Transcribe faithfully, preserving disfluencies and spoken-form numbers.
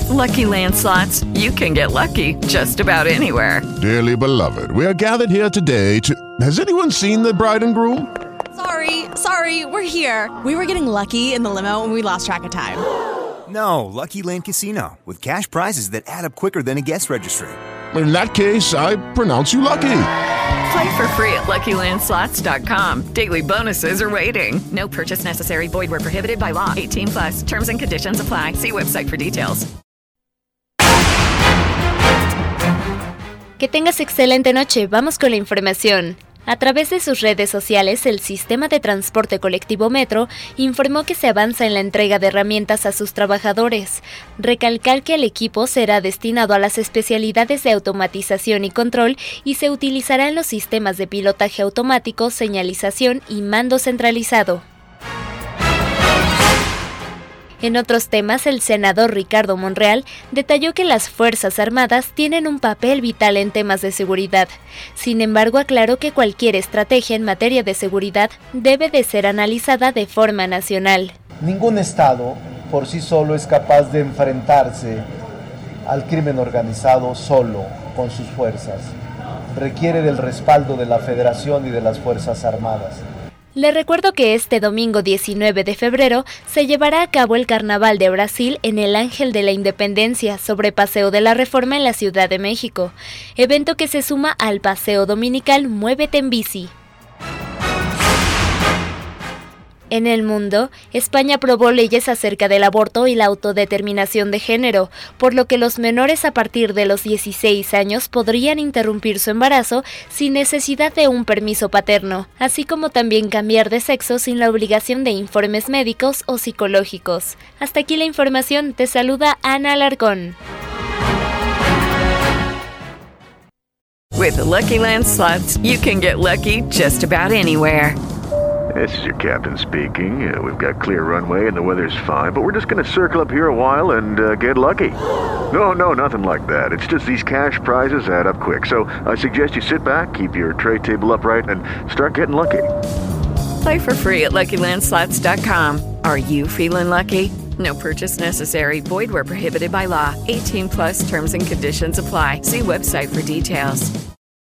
Lucky Land Slots, you can get lucky just about anywhere. Dearly beloved, we are gathered here today to... Has anyone seen the bride and groom? Sorry, sorry, we're here. We were getting lucky in the limo and we lost track of time. No, Lucky Land Casino, with cash prizes that add up quicker than a guest registry. In that case, I pronounce you lucky. Play for free at Lucky Land Slots dot com. Daily bonuses are waiting. No purchase necessary. Void where prohibited by law. eighteen plus. Terms and conditions apply. See website for details. Que tengas excelente noche. Vamos con la información. A través de sus redes sociales, el sistema de transporte colectivo Metro informó que se avanza en la entrega de herramientas a sus trabajadores. Recalcar que el equipo será destinado a las especialidades de automatización y control y se utilizarán los sistemas de pilotaje automático, señalización y mando centralizado. En otros temas, el senador Ricardo Monreal detalló que las Fuerzas Armadas tienen un papel vital en temas de seguridad. Sin embargo, aclaró que cualquier estrategia en materia de seguridad debe de ser analizada de forma nacional. Ningún Estado por sí solo es capaz de enfrentarse al crimen organizado solo con sus fuerzas. Requiere del respaldo de la Federación y de las Fuerzas Armadas. Le recuerdo que este domingo diecinueve de febrero se llevará a cabo el Carnaval de Brasil en el Ángel de la Independencia sobre Paseo de la Reforma en la Ciudad de México, evento que se suma al paseo dominical Muévete en Bici. En el mundo, España aprobó leyes acerca del aborto y la autodeterminación de género, por lo que los menores a partir de los dieciséis años podrían interrumpir su embarazo sin necesidad de un permiso paterno, así como también cambiar de sexo sin la obligación de informes médicos o psicológicos. Hasta aquí la información, te saluda Ana Alarcón. With the Lucky Land Slots, you can get lucky just about anywhere. This is your captain speaking. Uh, we've got clear runway and the weather's fine, but we're just going to circle up here a while and uh, get lucky. No, no, nothing like that. It's just these cash prizes add up quick. So I suggest you sit back, keep your tray table upright, and start getting lucky. Play for free at Lucky Land Slots dot com. Are you feeling lucky? No purchase necessary. Void where prohibited by law. eighteen plus terms and conditions apply. See website for details.